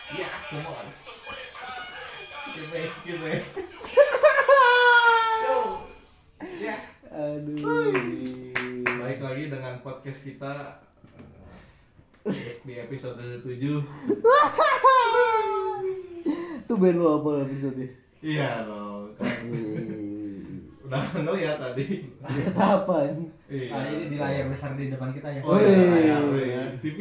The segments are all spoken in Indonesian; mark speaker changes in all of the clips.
Speaker 1: Ya, come on. Give me. Yo. Ya.
Speaker 2: Aduh.
Speaker 1: Baik lagi dengan podcast kita di episode 7.
Speaker 2: Tuh band lu apa episode?
Speaker 1: Iya loh, kan udah ya tadi.
Speaker 2: Lihat apa ini?
Speaker 1: Iya.
Speaker 3: Ini di layar besar di depan kita ya.
Speaker 1: Oh iya, TV.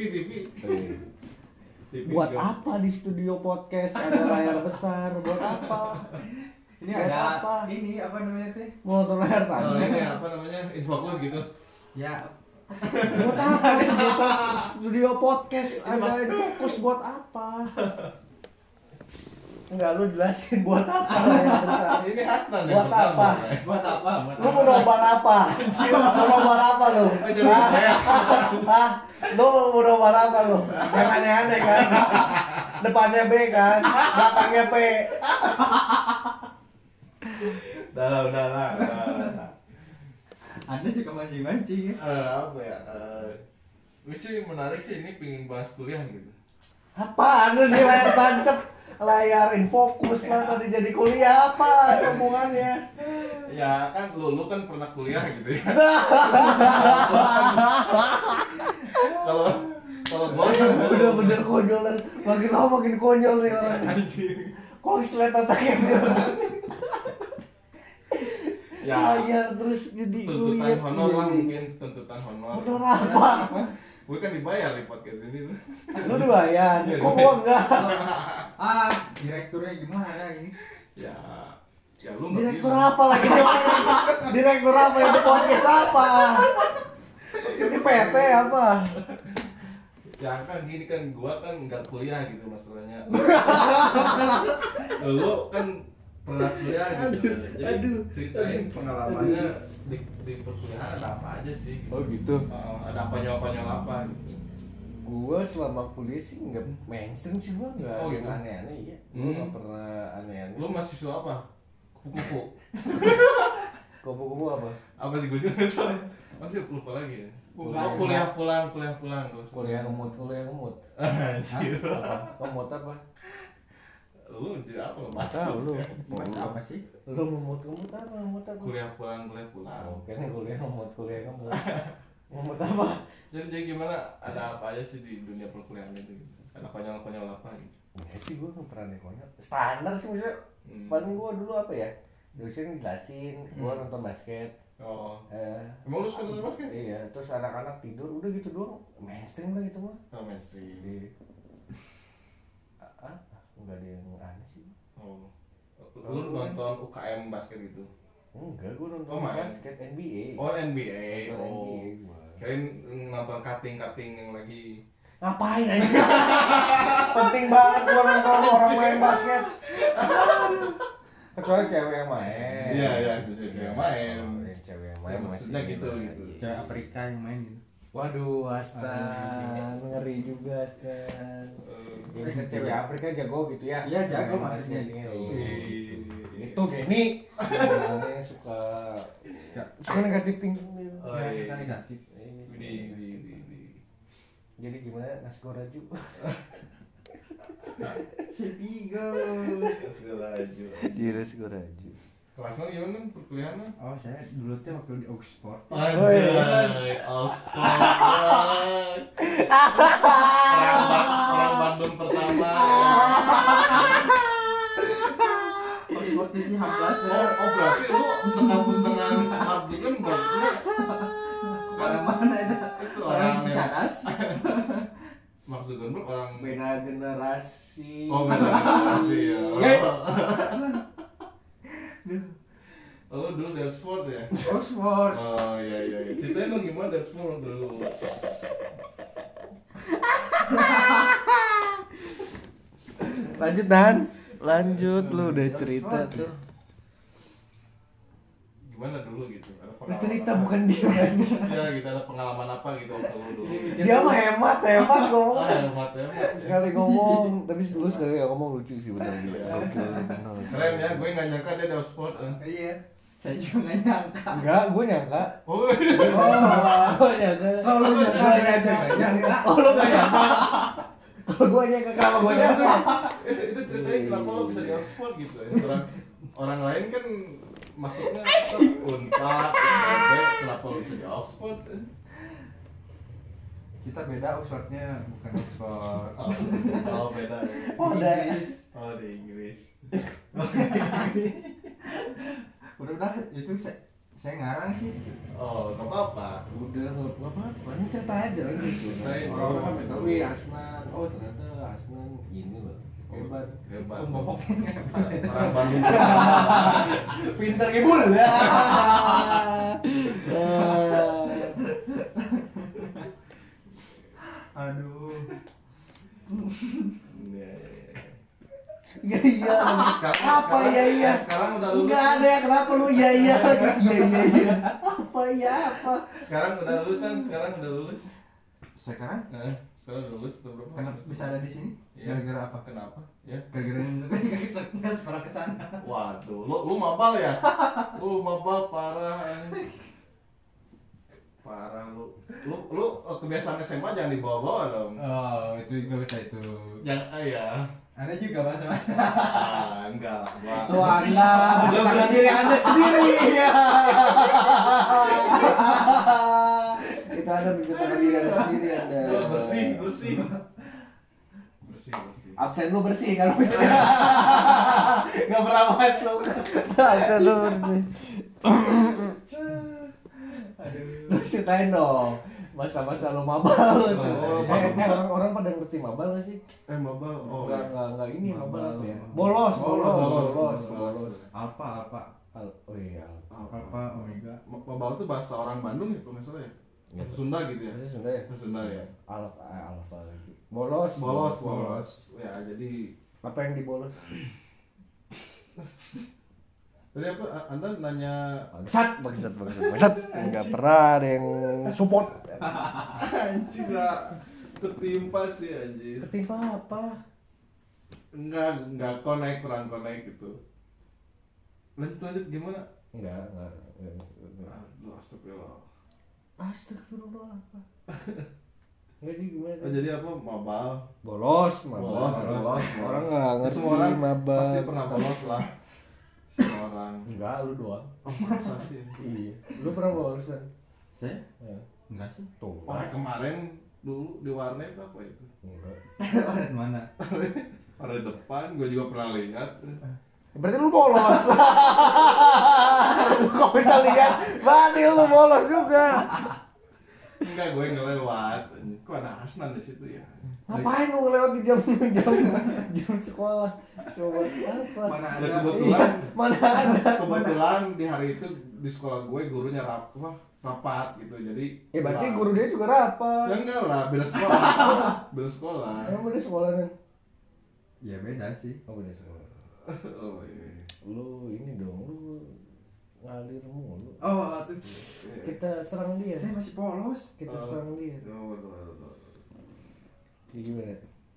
Speaker 2: Buat
Speaker 1: juga.
Speaker 2: apa di studio podcast ada layar besar? Buat apa?
Speaker 3: Ini
Speaker 2: Buat
Speaker 3: ada
Speaker 2: apa?
Speaker 3: ini apa namanya teh?
Speaker 2: Mau nonton layar
Speaker 1: Oh,
Speaker 2: panjang?
Speaker 1: ini apa namanya? Infokus gitu.
Speaker 3: Ya,
Speaker 2: Buat apa studio podcast ada fokus buat apa? Enggak, lu jelasin buat apa layar besar?
Speaker 1: Ini Hasnan yang
Speaker 2: Buat
Speaker 1: pertama,
Speaker 2: apa?
Speaker 1: ya.
Speaker 3: buat apa?
Speaker 2: Lu mau nobar apa? Mau nobar apa lu? Hah? Lu mau nobar apa lu? Yang aneh-aneh kan? Depannya B kan? Belakangnya P.
Speaker 1: Udah lah.
Speaker 3: Anda suka mancing-mancing ya?
Speaker 1: Apa ya? Gue sih menarik sih ini pingin bahas kuliah gitu.
Speaker 2: Apaan lu sih layar tancap? Layar infokus lah tadi jadi kuliah apa hubungannya?
Speaker 1: Ya kan lu kan pernah kuliah gitu ya. Kalau gua kan
Speaker 2: Bener-bener konyol, makin lama makin konyol nih orang.
Speaker 1: anjing.
Speaker 2: Kok islet otaknya dia orang?
Speaker 1: Ya
Speaker 2: Layar terus jadi
Speaker 1: tuntutan
Speaker 2: kuliah.
Speaker 1: honor lah mungkin tuntutan honor.
Speaker 2: Honor apa?
Speaker 1: Gue kan dibayar di podcast ini tuh.
Speaker 2: Lu dibayar?
Speaker 1: Iya,
Speaker 2: Kok gua enggak?
Speaker 3: Direkturnya gimana ini?
Speaker 1: Ya lu nggak
Speaker 2: Direktur
Speaker 1: bilang.
Speaker 2: apa lagi? Direktur apa yang di podcast apa? Ini PT apa?
Speaker 1: Ya kan gini kan gua kan nggak kuliah gitu masalahnya. Lu kan pernah kuliah gitu. Jadi ceritain pengalamannya di perkuliahan ada apa aja sih?
Speaker 2: Oh gitu.
Speaker 1: Ada konyol-konyol apa gitu.
Speaker 2: Gua selama kuliah sih nggak mainstream sih, gua nggak
Speaker 1: Oh,
Speaker 2: yang
Speaker 1: gitu?
Speaker 2: aneh-aneh ya. Gua nggak pernah aneh-aneh.
Speaker 1: Lu mahasiswa apa? Kupu-kupu.
Speaker 2: Kupu-kupu apa?
Speaker 1: Apa sih gue juga nggak tahu. Masih lupa lagi ya.
Speaker 3: Bukan.
Speaker 1: Kuliah pulang.
Speaker 2: Kuliah ngemut.
Speaker 1: Anjir.
Speaker 2: Ngemut apa?
Speaker 1: Lu jadi apa? Mas
Speaker 2: Tahu lu.
Speaker 3: Mas apa sih?
Speaker 2: Lu ngemut apa? Ngemut apa?
Speaker 1: Kuliah pulang.
Speaker 2: Oh, kayaknya kuliah ngemut. Ngemut apa?
Speaker 1: Jadi gimana? Ada apa aja sih di dunia perkuliahan itu? Gitu? Ada konyol-konyol apa gitu?
Speaker 2: Ya sih gua nggak pernah nih konyol. Standar sih maksudnya. Paling gua dulu apa ya? Dosen jelasin, gua nonton basket.
Speaker 1: Oh. Emang lu suka nonton basket?
Speaker 2: Iya, terus anak-anak tidur, udah gitu doang. Mainstream lah gitu mah.
Speaker 1: Oh, mainstream.
Speaker 2: Iya. Enggak ada yang aneh sih.
Speaker 1: Oh. Lu nonton UKM basket gitu?
Speaker 2: Enggak, gua nonton
Speaker 1: Oh, main.
Speaker 2: basket NBA.
Speaker 1: Oh, NBA.
Speaker 2: Nonton
Speaker 1: Oh.
Speaker 2: NBA gua.
Speaker 1: Kirain nonton cutting yang lagi.
Speaker 2: Ngapain aja? Penting banget gua nonton orang main basket. Kecuali cewek yang main.
Speaker 1: Iya, bisa cewek main.
Speaker 2: Oh, yang cewek yang main
Speaker 1: Ya, maksudnya
Speaker 2: masih
Speaker 1: gitu.
Speaker 3: Cewek Afrika yang main gitu.
Speaker 2: Waduh, Astan, ngeri juga Astan. Yang cewek Afrika jago gitu ya?
Speaker 3: Iya, jago
Speaker 2: Main
Speaker 3: maksudnya.
Speaker 2: basket, iya.
Speaker 1: Iya.
Speaker 2: Itu Geni. Orangnya suka negatif thinking.
Speaker 1: Oh,
Speaker 3: Ya,
Speaker 1: iya.
Speaker 3: kita negatif.
Speaker 1: Di.
Speaker 2: Jadi gimana Nasgoraju?
Speaker 3: Sepigo.
Speaker 1: Segala aja.
Speaker 2: Iya Nasgoraju.
Speaker 1: Kelasnya gimana perkuliahannya?
Speaker 3: Oh, saya dulu tuh waktu di Oxford.
Speaker 1: Anjay, Oxford. Orang Bandung pertama.
Speaker 3: Oxford itu H+ ya.
Speaker 1: Oh berarti lu sekampus dengan Mark Zuckerberg.
Speaker 3: Orang mana itu?
Speaker 1: Itu
Speaker 3: Orang
Speaker 1: orang
Speaker 3: Cicadas.
Speaker 1: Mark Zuckerberg orang.
Speaker 2: Beda generasi.
Speaker 1: Oh beda generasi ya. Oh lu dulu di Oxford ya?
Speaker 3: Oxford.
Speaker 1: Oh iya. Ceritain dong gimana di Oxford dulu.
Speaker 2: Lanjut Dan. Lanjut lu udah cerita tuh.
Speaker 1: Gimana dulu gitu? Ada
Speaker 2: Lu
Speaker 1: pengalaman
Speaker 2: cerita
Speaker 1: apa?
Speaker 2: bukan dia aja.
Speaker 1: Ya kita ada pengalaman apa gitu waktu lu dulu?
Speaker 2: Dia mah hemat ngomong.
Speaker 1: Hemat ya.
Speaker 2: Sekali ngomong, tapi lu sekali ngomong lucu sih benar dia.
Speaker 1: Iya.
Speaker 2: Oke, benar.
Speaker 1: Keren ya, gue nggak nyangka dia di Oxford.
Speaker 3: Iya. Saya juga nggak nyangka.
Speaker 2: Enggak, gue nyangka.
Speaker 1: Oh,
Speaker 2: Oh, nyangka.
Speaker 3: Oh, lu nyangka, dia aja nggak nyangka.
Speaker 2: Oh, lu nggak nyangka. Kalau gue nyangka, kenapa gue nyangka?
Speaker 1: Itu ceritanya kenapa lo bisa di Oxford gitu ya. Orang lain kan masuknya Unpad, IPB, kenapa lo bisa di Oxford?
Speaker 3: Kita beda Oxfordnya, bukan Oxford.
Speaker 1: Oh beda.
Speaker 2: Oh, ada.
Speaker 1: Oh di Inggris.
Speaker 3: Udah itu saya ngarang sih.
Speaker 1: Oh nggak apa-apa.
Speaker 2: Udah, nggak apa-apa, ini cerita aja lah gitu.
Speaker 1: Ceritain.
Speaker 2: Orang-orang kan tahu, wih Asnan, oh ternyata Asnan ini loh, hebat.
Speaker 1: Hebat.
Speaker 3: Ngomongnya
Speaker 1: Orang Bandung.
Speaker 2: Pinter ngibul ya.
Speaker 3: aduh.
Speaker 2: Iya iya. Apa iya iya?
Speaker 1: Sekarang udah lulus.
Speaker 2: Enggak ada ya, kenapa lu iya iya lagi? Iya iya iya. Apa ya apa?
Speaker 1: Sekarang udah lulus kan? Sekarang udah lulus.
Speaker 3: Sekarang
Speaker 1: Sekarang udah lulus atau berapa?
Speaker 3: kenapa bisa ada di sini?
Speaker 1: Iya.
Speaker 3: Gara-gara apa?
Speaker 1: Kenapa? Ya.
Speaker 3: Gara-gara nggak separah ke sana.
Speaker 1: Waduh, lu mabal ya? Lu mabal parah. Parah lu. Lu kebiasaan SMA jangan dibawa-bawa dong.
Speaker 3: Oh, itu nggak bisa itu.
Speaker 1: Jangan ya.
Speaker 3: Ada juga mas.
Speaker 1: Enggak lah. Gua
Speaker 2: Lu Anda menciptakan diri Anda sendiri. Iya. Itu Anda menciptakan diri Anda sendiri Anda.
Speaker 1: bersih. Bersih.
Speaker 2: Absen lu bersih kan maksudnya. Enggak pernah masuk. Absen lu bersih. Lu ceritain dong masa-masa lu mabal tuh.
Speaker 1: Oh,
Speaker 2: Orang pada ngerti mabal nggak sih?
Speaker 1: Mabal. Oh.
Speaker 2: Enggak ini mabal apa ya?
Speaker 3: Bolos.
Speaker 2: Bolos.
Speaker 3: Alpha.
Speaker 2: Oh iya.
Speaker 3: Alpha Omega.
Speaker 1: Mabal itu bahasa orang Bandung ya, kalau nggak salah ya? Bahasa Sunda gitu ya?
Speaker 2: Bahasa Sunda ya?
Speaker 1: Bahasa Sunda ya?
Speaker 2: Alfa lagi. Bolos.
Speaker 1: Ya, jadi
Speaker 2: Apa yang dibolos?
Speaker 1: tadi apa? Anda nanya
Speaker 2: Bangsat. Enggak pernah ada yang support.
Speaker 1: anjing lah. Ketimpa sih anjir.
Speaker 2: Ketimpa apa?
Speaker 1: Enggak kurang connect gitu. Lanjut gimana?
Speaker 2: Enggak.
Speaker 1: Aduh, astagfirullah.
Speaker 2: Astagfirullah apa? Enggak sih gimana?
Speaker 1: Oh, jadi apa? Mabal.
Speaker 2: Bolos.
Speaker 1: Orang
Speaker 2: enggak ngerti
Speaker 1: semua orang
Speaker 2: mabal.
Speaker 1: pasti pernah bolos lah. Semua orang.
Speaker 2: Enggak, lu doang.
Speaker 1: Oh, masa sih?
Speaker 2: Iya. Lu pernah bolos kan?
Speaker 3: Saya?
Speaker 2: Ya.
Speaker 3: Enggak sih.
Speaker 2: Tuh.
Speaker 1: Orang kemarin dulu di warnet apa itu?
Speaker 2: Enggak.
Speaker 3: Orang mana?
Speaker 1: Warnet depan, gue juga pernah lihat.
Speaker 2: Berarti lu bolos. Lu kok bisa lihat? Berarti lu bolos juga.
Speaker 1: Enggak, gue ngelewat. Kok ada Hasnan di situ ya?
Speaker 2: Ngapain lu ngelewat di jam sekolah? Coba apa?
Speaker 3: Mana
Speaker 1: Ya,
Speaker 3: ada?
Speaker 2: Mana ada?
Speaker 1: Kebetulan di hari itu di sekolah gue gurunya rapat gitu. Jadi
Speaker 2: Berarti guru dia juga rapat.
Speaker 1: ya enggak lah, beda sekolah. Beda sekolah.
Speaker 2: Emang beda sekolah kan?
Speaker 3: Ya beda sih.
Speaker 2: Oh beda sekolah.
Speaker 1: Oh iya.
Speaker 2: Lu ini dong, lu ngalir mulu.
Speaker 3: Oh, tuh.
Speaker 2: Kita serang dia.
Speaker 3: Saya masih polos.
Speaker 2: Kita serang dia.
Speaker 1: Waduh.
Speaker 2: Ini gimana?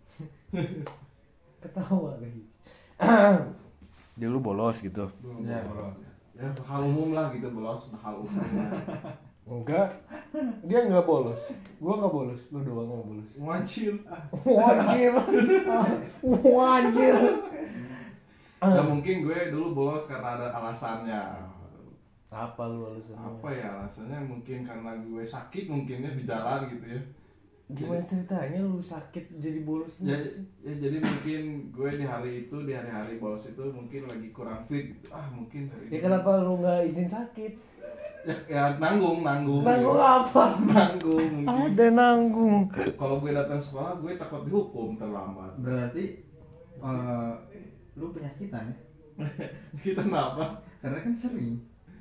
Speaker 2: Ketawa lagi. Dia lu bolos gitu.
Speaker 3: Ya, bolos.
Speaker 1: Ya, hal umum lah gitu, bolos, hal umum.
Speaker 2: Enggak. Dia enggak bolos. Gua enggak bolos, lu doang yang bolos.
Speaker 1: Wajib.
Speaker 2: Wajir.
Speaker 1: Ya mungkin gue dulu bolos karena ada alasannya.
Speaker 2: Apa lu alasannya?
Speaker 1: Apa ya alasannya? Mungkin karena gue sakit mungkinnya di jalan gitu ya.
Speaker 2: Gimana ceritanya lu sakit jadi bolos?
Speaker 1: Ya jadi mungkin gue di hari-hari bolos itu mungkin lagi kurang fit gitu. Mungkin hari
Speaker 2: Ya
Speaker 1: ini.
Speaker 2: kenapa lu enggak izin sakit?
Speaker 1: Ya nanggung
Speaker 2: Nanggung
Speaker 1: ya.
Speaker 2: apa?
Speaker 1: Nanggung mungkin.
Speaker 2: Ada nanggung.
Speaker 1: Kalau gue datang sekolah gue takut dihukum terlambat.
Speaker 3: Berarti lu penyakitan ya?
Speaker 1: Kita kenapa?
Speaker 3: Karena kan sering.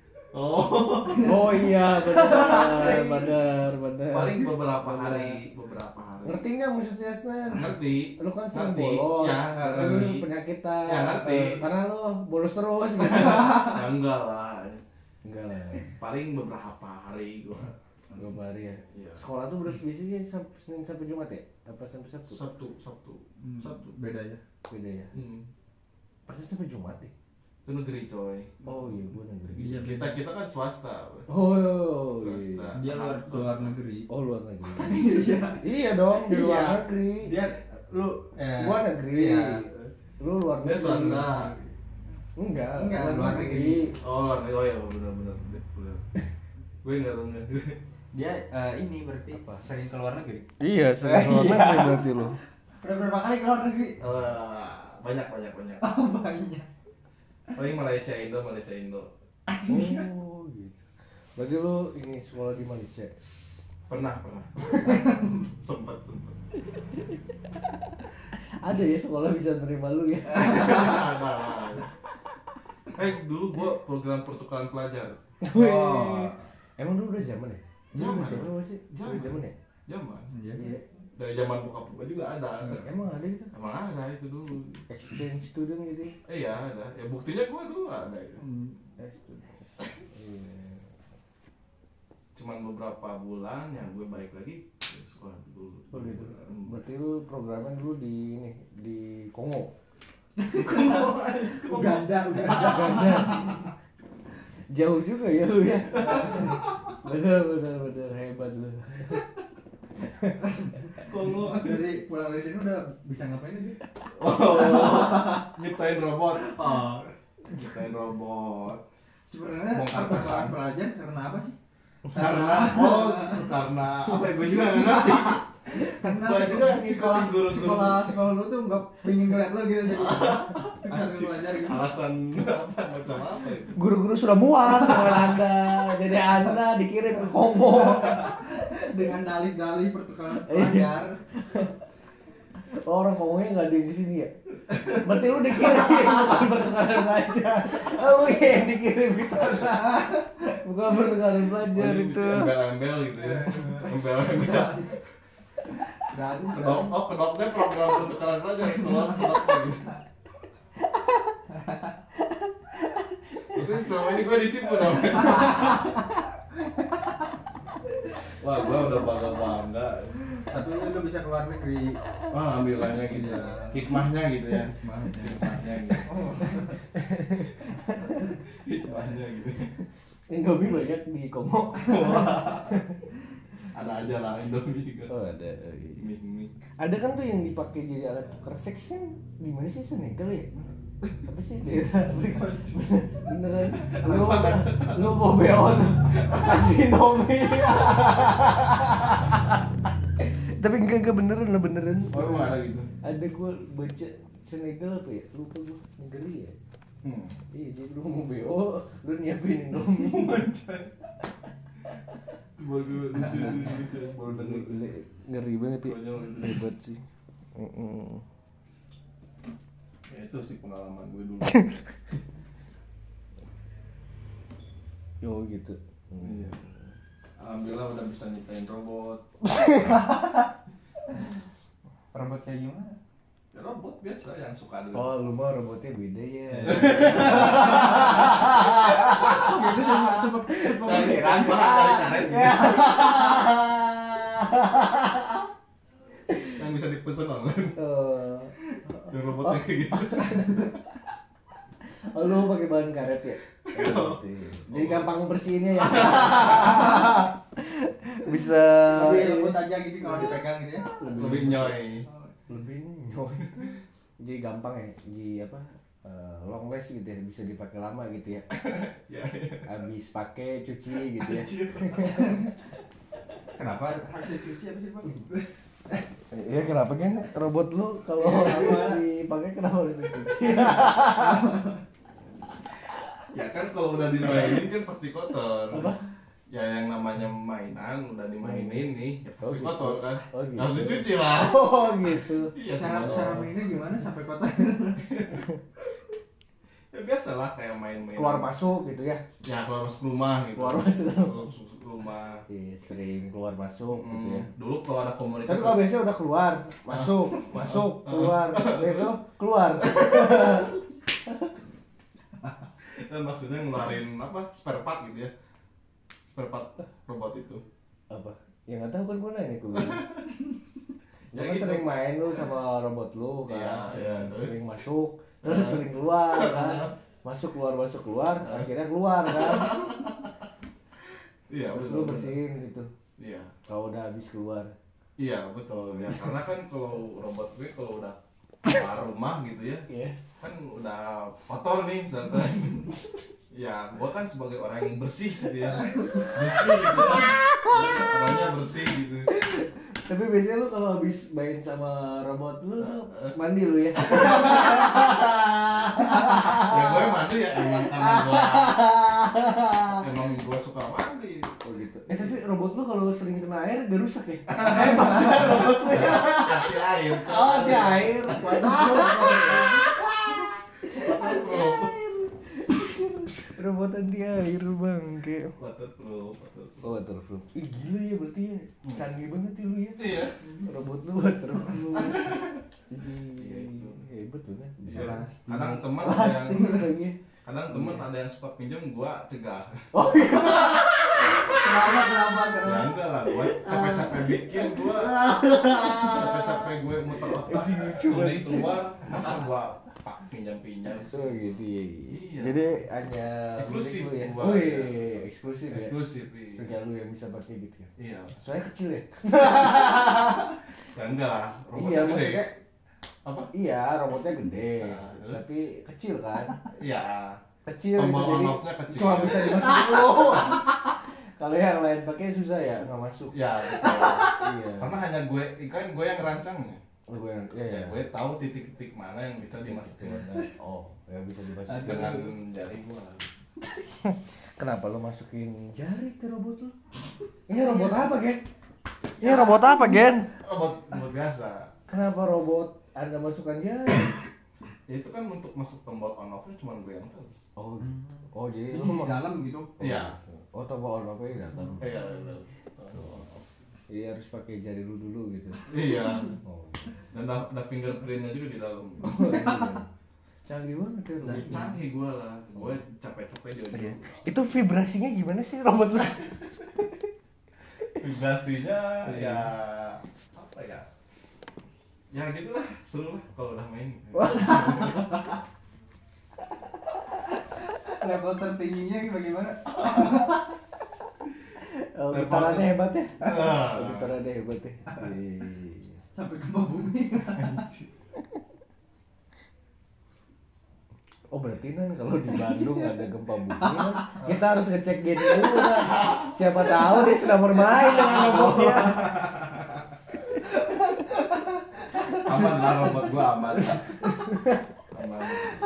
Speaker 2: Oh iya benar.
Speaker 1: Paling beberapa hari.
Speaker 2: Ngerti nggak maksudnya Snan?
Speaker 1: Ngerti.
Speaker 2: Lu kan sering
Speaker 1: Ngerti.
Speaker 2: bolos.
Speaker 1: Ya,
Speaker 2: Lu
Speaker 1: ngerti.
Speaker 2: penyakitan.
Speaker 1: Ya, ngerti.
Speaker 2: Karena lu bolos terus gitu.
Speaker 1: Ya enggak lah.
Speaker 2: Enggak lah.
Speaker 1: Paling beberapa hari gue.
Speaker 2: Berapa hari ya?
Speaker 1: Iya.
Speaker 2: Sekolah tuh berarti biasanya Senin sampai Jumat ya? Apa sampai Sabtu?
Speaker 1: Sabtu.
Speaker 3: Beda ya.
Speaker 2: Beda ya? Pasti sampai Jumat deh.
Speaker 1: Itu negeri coy.
Speaker 2: Oh iya, gua negeri.
Speaker 3: Iya,
Speaker 1: Kita kan swasta.
Speaker 2: Oh
Speaker 1: Swasta.
Speaker 2: iya.
Speaker 3: Dia luar negeri.
Speaker 2: Oh luar negeri.
Speaker 3: Iya.
Speaker 2: Iya dong, di luar
Speaker 3: Iya.
Speaker 2: negeri.
Speaker 3: Dia lu
Speaker 2: Gua negeri.
Speaker 3: iya.
Speaker 2: Lu luar
Speaker 1: Dia
Speaker 2: negeri.
Speaker 1: swasta.
Speaker 2: Enggak,
Speaker 3: luar negeri.
Speaker 1: Oh ya benar. Gue nggak tahu nih.
Speaker 3: Dia ini berarti sering ke luar negeri.
Speaker 2: Iya, sering luar
Speaker 3: Iya.
Speaker 2: negeri berarti lu.
Speaker 3: Udah berapa kali ke luar negeri?
Speaker 1: Banyak.
Speaker 3: Oh, banyak.
Speaker 1: Paling Malaysia Indo.
Speaker 2: Oh, gitu. Berarti lu ini sekolah di Malaysia.
Speaker 1: Pernah. Sempat.
Speaker 2: Ada ya sekolah bisa nerima lu ya.
Speaker 1: Ada. Dulu gua program pertukaran pelajar.
Speaker 2: Oh. Emang dulu udah zaman ya?
Speaker 1: Zaman.
Speaker 2: Zaman sih?
Speaker 1: Zaman.
Speaker 2: Zaman ya?
Speaker 1: Zaman.
Speaker 3: Iya.
Speaker 2: Iya.
Speaker 1: Dari zaman bokap gua juga ada.
Speaker 2: Emang ada gitu?
Speaker 1: Emang ada itu dulu.
Speaker 2: Exchange student gitu ya?
Speaker 1: Iya ada. Ya buktinya gua dulu ada itu.
Speaker 2: Iya.
Speaker 1: Cuman beberapa bulan yang gue balik lagi ke sekolah dulu.
Speaker 2: Oh gitu. Berarti lu programnya dulu di ini di Kongo.
Speaker 3: Uganda.
Speaker 2: Jauh juga ya lu ya. Bener hebat lu.
Speaker 1: Kongo.
Speaker 3: Dari pulang dari sini udah bisa ngapain aja?
Speaker 1: Nyiptain robot.
Speaker 3: Oh.
Speaker 1: Nyiptain robot.
Speaker 3: Sebenarnya
Speaker 1: Bongkar
Speaker 3: pertukaran
Speaker 1: pasang.
Speaker 3: pelajar karena apa sih?
Speaker 1: Karena apa ya, gue juga nggak ngerti.
Speaker 3: Karena
Speaker 1: Gua juga
Speaker 3: sekolah
Speaker 1: ngikutin guru-guru.
Speaker 3: sekolah lu tuh nggak pengen ngeliat lo gitu jadi karena belajar gitu.
Speaker 1: Alasan apa macam apa itu?
Speaker 2: Guru-guru sudah muak dengan Anda. Jadi Anda dikirim ke Kongo.
Speaker 3: Dengan dalih-dalih pertukaran pelajar.
Speaker 2: Orang Kongonya nggak ada yang di sini ya. Berarti lu dikirim bukan pertukaran pelajar. Lu yang dikirim ke sana. Bukan pertukaran pelajar itu.
Speaker 1: Embel-embel gitu ya. Embel-embel. Kedoknya program pertukaran pelajar kalau kedoknya gitu. Itu selama ini gue ditipu dong. Wah, gue udah bangga.
Speaker 3: Tapi lu bisa keluar negeri.
Speaker 1: Wah, alhamdulillahnya gitu ya. Hikmahnya gitu ya. Hikmahnya gitu. Hikmahnya gitu.
Speaker 2: Indomie banyak di Kongo.
Speaker 1: Ada aja lah Indomie juga.
Speaker 2: Oh ada.
Speaker 1: Mie.
Speaker 2: Ada kan tuh yang dipakai jadi alat tukar seks kan di mana sih Senegal ya? Apa sih daerah? Beneran? Lu mau beot kasih Indomie. Tapi enggak beneran.
Speaker 1: Oh, emang ada gitu.
Speaker 2: Ada gue baca Senegal apa ya? Lupa gue negeri ya. Iya jadi lu mau BO, lu nyiapin Indomie.
Speaker 1: Baru lucu. Baru denger.
Speaker 2: Ngeri banget ya.
Speaker 1: Konyol.
Speaker 2: Hebat sih.
Speaker 1: Ya itu sih pengalaman gue dulu.
Speaker 2: Oh gitu.
Speaker 1: Iya. Alhamdulillah udah bisa nyiptain robot.
Speaker 3: Robot kayak gimana?
Speaker 1: Ya, robot biasa yang suka ada.
Speaker 2: Oh lu mah robotnya beda ya.
Speaker 3: Gitu sempat
Speaker 1: Pikiran dari karet. Yang bisa dipesen online. Yang robotnya kayak gitu.
Speaker 2: Oh lu pakai bahan karet ya? Jadi gampang bersihinnya ya. Bisa
Speaker 3: lebih lembut aja gitu kalau dipegang gitu ya.
Speaker 1: Lebih nyoy.
Speaker 2: lebih nyoy. Jadi gampang ya, jadi apa? Long last gitu ya, bisa dipakai lama gitu ya.
Speaker 1: Ya.
Speaker 2: Habis pakai cuci gitu ya.
Speaker 3: Kenapa harus dicuci apa sih Pak?
Speaker 2: Iya kenapa kan robot lu kalau harus dipakai kenapa harus dicuci?
Speaker 1: Ya kan kalau udah dimainin kan pasti kotor.
Speaker 2: Apa?
Speaker 1: Ya yang namanya mainan udah dimainin nih, ya pasti
Speaker 2: Oh, gitu.
Speaker 1: kotor kan.
Speaker 2: Oh, gitu.
Speaker 1: Harus dicuci lah.
Speaker 2: Oh gitu.
Speaker 1: Iya,
Speaker 3: Cara
Speaker 1: semua.
Speaker 3: mainnya gimana sampai kotor?
Speaker 1: Ya biasa lah kayak main-main.
Speaker 2: Keluar masuk gitu ya.
Speaker 1: Ya keluar masuk rumah gitu.
Speaker 2: Keluar masuk.
Speaker 1: Keluar masuk rumah.
Speaker 2: Iya, sering keluar masuk gitu ya.
Speaker 1: Dulu kalau ada komunitas.
Speaker 2: Tapi kalau biasanya udah keluar, masuk, keluar, itu keluar.
Speaker 1: Maksudnya ngeluarin apa? Spare part gitu ya. Spare part robot itu.
Speaker 2: Apa? Ya nggak tahu kan gue nanya ke lu.
Speaker 1: Ya
Speaker 2: Ya kan
Speaker 1: gitu.
Speaker 2: sering main lu sama robot lu kan.
Speaker 1: Iya, iya, terus?
Speaker 2: Sering masuk, terus sering keluar kan. Masuk keluar, akhirnya keluar kan.
Speaker 1: Iya,
Speaker 2: Terus
Speaker 1: betul.
Speaker 2: lu bersihin gitu.
Speaker 1: Iya.
Speaker 2: Kalau udah habis keluar.
Speaker 1: Iya betul ya, karena kan kalau robot gue kalau udah keluar rumah gitu ya, kan udah kotor nih misalkan. Ya, gua kan sebagai orang yang bersih gitu ya. Bersih gitu. Orangnya bersih gitu.
Speaker 2: Tapi biasanya lu kalau habis main sama robot lu mandi lu ya.
Speaker 1: Ya gue mandi ya emang karena emang gua suka mandi.
Speaker 2: Oh gitu. Tapi robot lu kalau sering kena air gak rusak ya? Hebat robot lu ya.
Speaker 1: Anti air.
Speaker 2: Oh, anti air. Robot anti air bang, kayak
Speaker 1: Waterproof.
Speaker 2: oh waterproof. Ih gila ya berarti ya, canggih banget ya lu ya.
Speaker 1: Iya.
Speaker 2: Robot lu waterproof. Hebat tuh kan.
Speaker 1: Iya. Kadang teman ada
Speaker 2: Plastis
Speaker 1: yang
Speaker 2: lagi.
Speaker 1: ada yang suka pinjam gua cegah.
Speaker 2: Oh iya. Kenapa?
Speaker 1: Ya enggak lah, gue capek-capek bikin gue capek-capek gue muter otak sulit keluar, masa gue pinjam-pinjam.
Speaker 2: Oh gitu ya.
Speaker 1: Iya.
Speaker 2: Jadi hanya
Speaker 1: Eksklusif
Speaker 2: milik lu ya.
Speaker 1: gua.
Speaker 2: Oh iya, eksklusif ya.
Speaker 1: Eksklusif, iya.
Speaker 2: Kayak lu yang bisa pakai gitu ya.
Speaker 1: Iya.
Speaker 2: Soalnya kecil ya.
Speaker 1: Ya enggak lah, robotnya
Speaker 2: Iya
Speaker 1: gede.
Speaker 2: maksudnya.
Speaker 1: Apa?
Speaker 2: Iya robotnya gede,
Speaker 1: Terus?
Speaker 2: tapi kecil kan.
Speaker 1: Iya.
Speaker 2: Kecil
Speaker 1: Tombol
Speaker 2: gitu, jadi
Speaker 1: on-off-nya kecil.
Speaker 2: cuma bisa dimasukin lu. Kalau yang lain pakai susah ya, nggak masuk.
Speaker 1: Ya, betul.
Speaker 2: Iya.
Speaker 1: Karena hanya gue yang ngerancangnya.
Speaker 2: Oh, gue yang,
Speaker 1: Ya, gue tahu titik-titik mana yang bisa dimasukin
Speaker 2: Oh, yang bisa dimasukin.
Speaker 1: dengan jari gue.
Speaker 2: Kenapa lo masukin jari ke robot lo? Ini robot apa, Gen? Ini robot apa, Gen?
Speaker 1: Robot biasa.
Speaker 2: Kenapa robot Anda masukkan jari?
Speaker 1: Ya, itu kan untuk masuk tombol on off-nya cuma gue yang tahu.
Speaker 2: Oh, jadi
Speaker 3: Jadi
Speaker 2: lo
Speaker 3: di
Speaker 2: mau
Speaker 3: dalam gitu.
Speaker 1: Iya.
Speaker 2: Oh, tombol on off-nya di dalam.
Speaker 1: Iya.
Speaker 2: Iya harus pakai jari lu dulu gitu.
Speaker 1: Iya.
Speaker 2: Oh.
Speaker 1: Dan ada fingerprintnya juga di dalam.
Speaker 2: Canggih banget ya robot.
Speaker 1: Canggih gue lah. Gue capek-capek dia.
Speaker 2: Itu vibrasinya gimana sih robot lu?
Speaker 1: Vibrasinya ya apa ya? Ya gitulah, seru lah kalau udah main.
Speaker 3: Level tertingginya bagaimana?
Speaker 2: Oh, gitarannya hebat ya?
Speaker 1: Ah.
Speaker 2: Gitarannya hebat ya? Iya.
Speaker 3: Sampai gempa bumi.
Speaker 2: Oh berarti kan kalau di Bandung ada gempa bumi kan kita harus ngecek gen dulu kan. Siapa tahu dia sudah bermain dengan robotnya.
Speaker 1: Aman lah robot gua aman. Aman.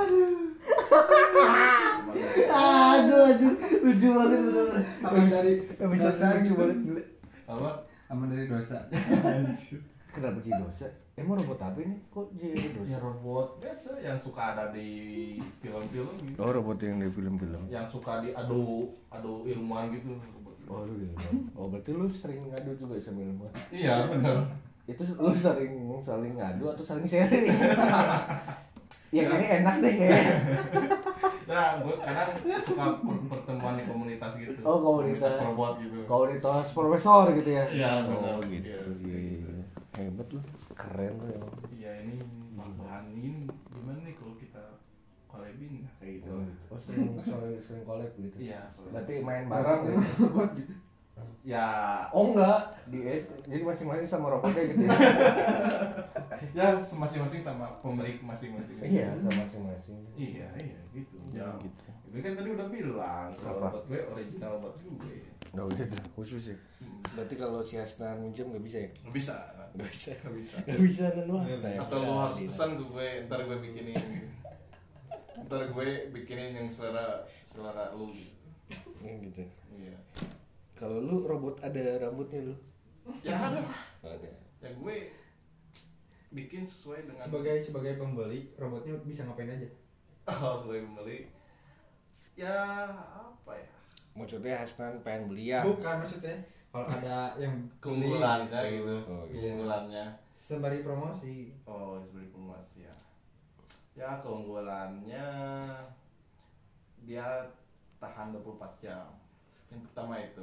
Speaker 2: Aduh, lucu banget bener.
Speaker 3: Aman dari
Speaker 2: Bisa
Speaker 3: dosa
Speaker 2: lucu
Speaker 3: gitu.
Speaker 2: banget gila.
Speaker 1: Apa?
Speaker 3: Aman dari dosa.
Speaker 2: Kenapa jadi dosa? Emang robot apa ini? Kok jadi dosa?
Speaker 1: Ya robot biasa yang suka ada di film-film gitu.
Speaker 2: Oh robot yang di film-film.
Speaker 1: Yang suka diadu ilmuwan gitu.
Speaker 2: Oh lu gitu. Oh berarti lu sering ngadu juga sama ilmuwan.
Speaker 1: Iya benar.
Speaker 2: Itu lu saling ngadu atau saling sharing? Yang ini enak deh kayaknya.
Speaker 1: Nah, gue kadang suka pertemuan di komunitas gitu.
Speaker 2: Oh, komunitas
Speaker 1: robot gitu.
Speaker 2: Komunitas profesor gitu ya?
Speaker 1: Iya,
Speaker 2: Oh
Speaker 1: benar.
Speaker 2: gitu. Iya. Hebat lu. Keren lu emang.
Speaker 1: Iya, ini bahan ini gimana nih kalau kita collabin kayak gitu.
Speaker 2: Oh sering collab gitu.
Speaker 1: Iya,
Speaker 2: Berarti main bareng gitu.
Speaker 1: ya
Speaker 2: Oh enggak, jadi masing-masing sama robotnya gitu ya.
Speaker 1: ya masing-masing sama pemilik masing-masing.
Speaker 2: Iya, sama masing-masing.
Speaker 1: Iya gitu.
Speaker 2: Ya,
Speaker 1: Ya,
Speaker 2: gitu.
Speaker 1: gue kan tadi udah bilang kalau
Speaker 2: Apa?
Speaker 1: robot gue original robot gue.
Speaker 2: Enggak gitu, khusus ya. Berarti kalau si Hasnan minjem enggak bisa ya?
Speaker 1: Nggak bisa.
Speaker 2: Enggak bisa.
Speaker 1: Nggak bisa.
Speaker 2: Enggak bisa kan lu.
Speaker 1: Atau lu harus pesan ke gue, ntar gue bikinin. Ntar gue bikinin yang selera lu gitu.
Speaker 2: Gitu.
Speaker 1: Iya.
Speaker 2: Kalau lu robot ada rambutnya lu?
Speaker 1: Ya ada.
Speaker 2: Ada.
Speaker 1: Ya gue bikin sesuai dengan
Speaker 3: Sebagai pembeli, robotnya bisa ngapain aja?
Speaker 1: oh, sebagai pembeli. Ya apa ya?
Speaker 2: Maksudnya Hasnan pengen beli ya?
Speaker 3: Bukan maksudnya. Kalau ada yang
Speaker 1: Keunggulannya
Speaker 3: beli,
Speaker 1: gitu.
Speaker 2: Oh, iya.
Speaker 1: Keunggulannya.
Speaker 3: sembari promosi.
Speaker 1: Oh, sebagai promosi ya. Ya keunggulannya dia tahan 24 jam. Yang pertama itu.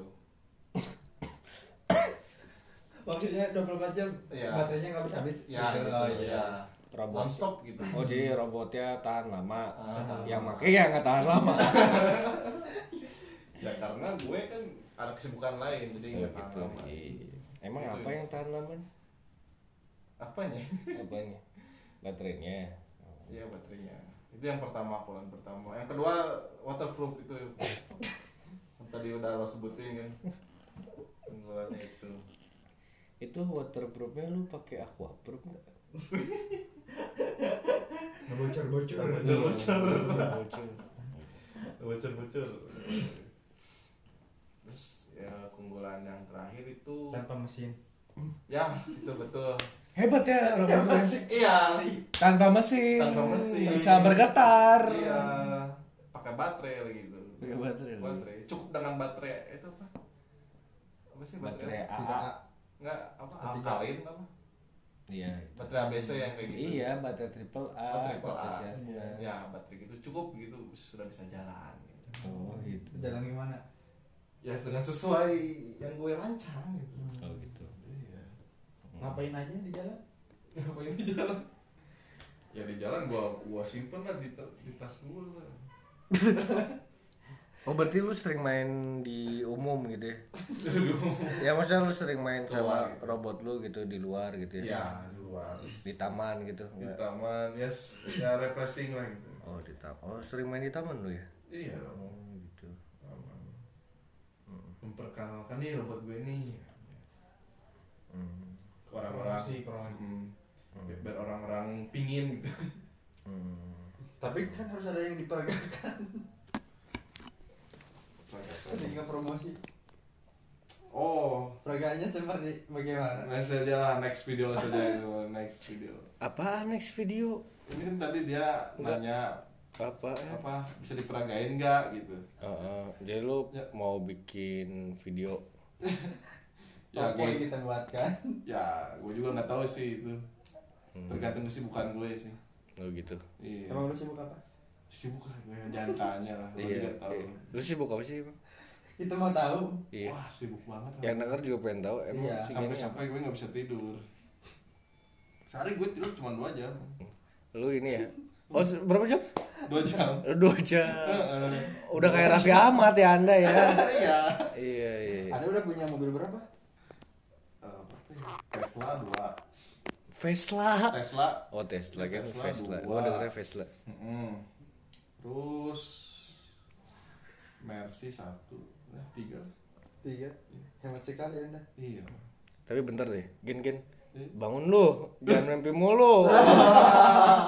Speaker 3: Maksudnya 24 jam
Speaker 1: Iya.
Speaker 3: baterainya nggak habis.
Speaker 1: Ya gitu,
Speaker 3: Oh,
Speaker 1: ya.
Speaker 2: Robot.
Speaker 1: Non-stop gitu.
Speaker 2: Oh jadi robotnya tahan lama.
Speaker 1: Tahan
Speaker 2: Yang
Speaker 1: lama.
Speaker 2: pakai ya nggak tahan lama.
Speaker 1: Ya karena gue kan ada kesibukan lain jadi nggak tahan lama.
Speaker 2: Emang
Speaker 1: Gitu.
Speaker 2: apa yang tahan lama?
Speaker 1: apanya?
Speaker 4: Apanya? Baterainya.
Speaker 1: Iya baterainya. Itu yang pertama, kolan pertama. Yang kedua waterproof itu. Tadi udah lo sebutin kan. Keunggulannya itu.
Speaker 4: Itu waterproofnya lu pakai aquaproof nggak?
Speaker 3: Bocor-bocor.
Speaker 1: Bocor. Terus ya keunggulan yang terakhir itu
Speaker 3: Tanpa mesin.
Speaker 1: ya itu betul.
Speaker 4: Hebat ya robotnya.
Speaker 1: Iya.
Speaker 4: Tanpa mesin.
Speaker 1: Tanpa mesin.
Speaker 4: Bisa bergetar.
Speaker 1: Iya. Pakai baterai lagi itu.
Speaker 4: Pakai baterai.
Speaker 1: Baterai. Cukup dengan baterai itu apa? Apa sih
Speaker 4: Baterai
Speaker 1: baterai?
Speaker 4: AA.
Speaker 1: Enggak apa? Alkalin apa?
Speaker 4: Iya.
Speaker 1: Baterai ABC yang kayak gitu.
Speaker 4: Iya, baterai triple A.
Speaker 1: Oh, triple A.
Speaker 4: baterai Shasta.
Speaker 1: Ya, baterai gitu cukup gitu sudah bisa jalan gitu.
Speaker 4: Oh gitu.
Speaker 3: Jalan gimana?
Speaker 1: Ya dengan sesuai yang gue rancang gitu.
Speaker 4: Oh gitu.
Speaker 1: Iya.
Speaker 3: Ngapain aja di jalan?
Speaker 1: Ngapain di jalan? Ya di jalan gua simpen lah di tas gua lah.
Speaker 4: Oh berarti lu sering main di umum gitu ya? Ya maksudnya lu sering main sama
Speaker 1: Keluar gitu.
Speaker 4: robot lu gitu di luar gitu ya?
Speaker 1: Ya, di luar.
Speaker 4: Di taman gitu?
Speaker 1: Di
Speaker 4: Enggak?
Speaker 1: taman, ya refreshing lah gitu.
Speaker 4: Oh di taman. Oh sering main di taman lu ya?
Speaker 1: Iya dong.
Speaker 4: Oh gitu.
Speaker 1: Taman. Memperkenalkan nih robot gue nih.
Speaker 4: Hmm.
Speaker 1: Ke orang-orang
Speaker 3: Promosi, promosi.
Speaker 1: Biar orang-orang pingin gitu.
Speaker 4: Hmm.
Speaker 3: Tapi kan harus ada yang diperagakan. Tadi nggak promosi.
Speaker 1: Oh,
Speaker 3: Peragaannya seperti bagaimana?
Speaker 1: next aja lah, next video saja itu, next video.
Speaker 4: Apa next video?
Speaker 1: Ini kan tadi dia nanya
Speaker 4: Apa?
Speaker 1: bisa diperagain nggak gitu.
Speaker 4: Jadi lu
Speaker 1: Ya.
Speaker 4: mau bikin video?
Speaker 1: Ya
Speaker 3: Oke,
Speaker 1: gue,
Speaker 3: kita buatkan.
Speaker 1: ya gue juga nggak tahu sih itu. Tergantung kesibukan gue sih.
Speaker 4: Oh gitu.
Speaker 1: Iya.
Speaker 3: Emang lu sibuk apa?
Speaker 1: Sibuk lah gue, jangan tanya lah. Gue
Speaker 4: Iya.
Speaker 1: juga tahu.
Speaker 4: Lu sibuk apa sih emang?
Speaker 3: Kita mau tahu.
Speaker 4: Iya.
Speaker 1: Wah sibuk banget.
Speaker 4: Yang denger juga pengen tahu emang
Speaker 3: Iya.
Speaker 4: si gini apa?
Speaker 1: Sampai gue nggak bisa tidur. Sehari gue tidur cuma 2 jam.
Speaker 4: Lu ini ya? Oh berapa jam?
Speaker 1: 2 jam.
Speaker 4: 2 jam. Udah kayak Raffi Ahmad ya anda ya?
Speaker 1: Iya.
Speaker 4: Iya.
Speaker 3: Anda udah punya mobil berapa?
Speaker 1: Tesla 2.
Speaker 4: Vesla.
Speaker 1: Tesla.
Speaker 4: Oh Tesla kan
Speaker 1: Tesla
Speaker 4: Vesla.
Speaker 1: dua.
Speaker 4: Gua dengernya Vesla.
Speaker 1: Terus Mercy 1. Nah, 3.
Speaker 3: 3. Hemat sekali Anda.
Speaker 1: Iya.
Speaker 4: Tapi bentar deh, Gen. Bangun lu, jangan mimpi mulu.